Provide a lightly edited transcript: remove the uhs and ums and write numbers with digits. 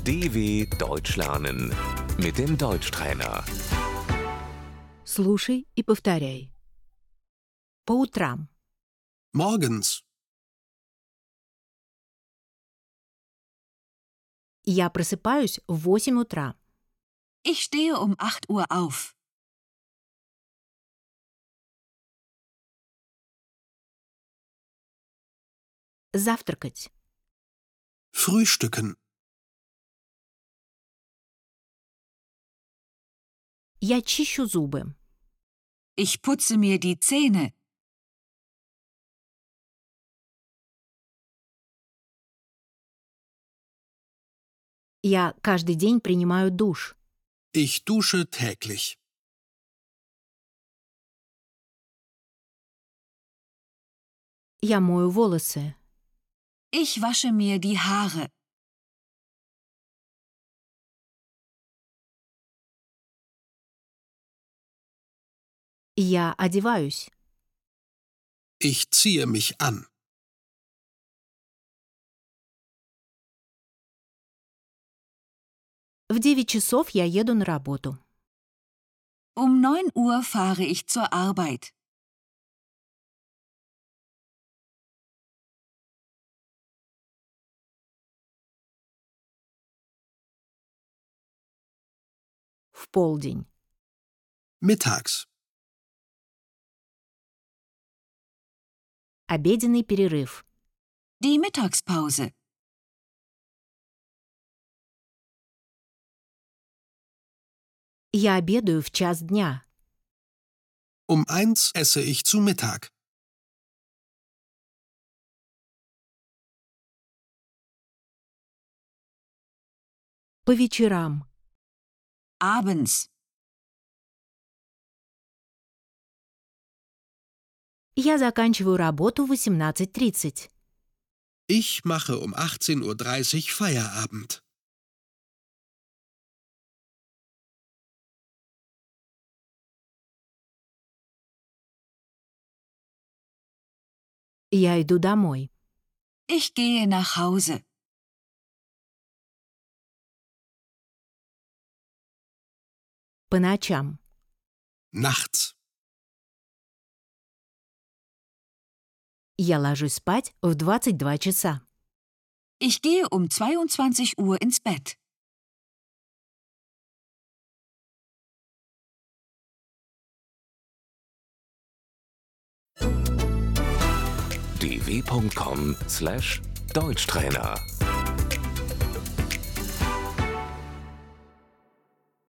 DW Deutsch lernen mit dem Deutschtrainer. Слушай и повторяй. По утрам. Morgens. Я просыпаюсь в 8 утра. Ich stehe um 8 Uhr auf. Завтракать. Frühstücken. Я чищу зубы. Ich putze mir die Zähne. Я каждый день принимаю душ. Ich dusche täglich. Я мою волосы. Ich wasche mir die Haare. Я одеваюсь. Ich ziehe mich an. В 9 часов я еду на работу. Um 9 Uhr fahre ich zur Arbeit. В полдень. Mittags. Обеденный перерыв. Die Mittagspause. Я обедаю в час дня. Um 1 esse ich zu Mittag. По вечерам. Abends. Я заканчиваю работу в 18:30. Ich mache um 18:30 Uhr Feierabend. Я иду домой. Ich gehe nach Hause. По ночам. Nachts. Я ложусь спать в 22 часа. Ich gehe um 22 Uhr ins Bett. dw.com/Deutschtrainer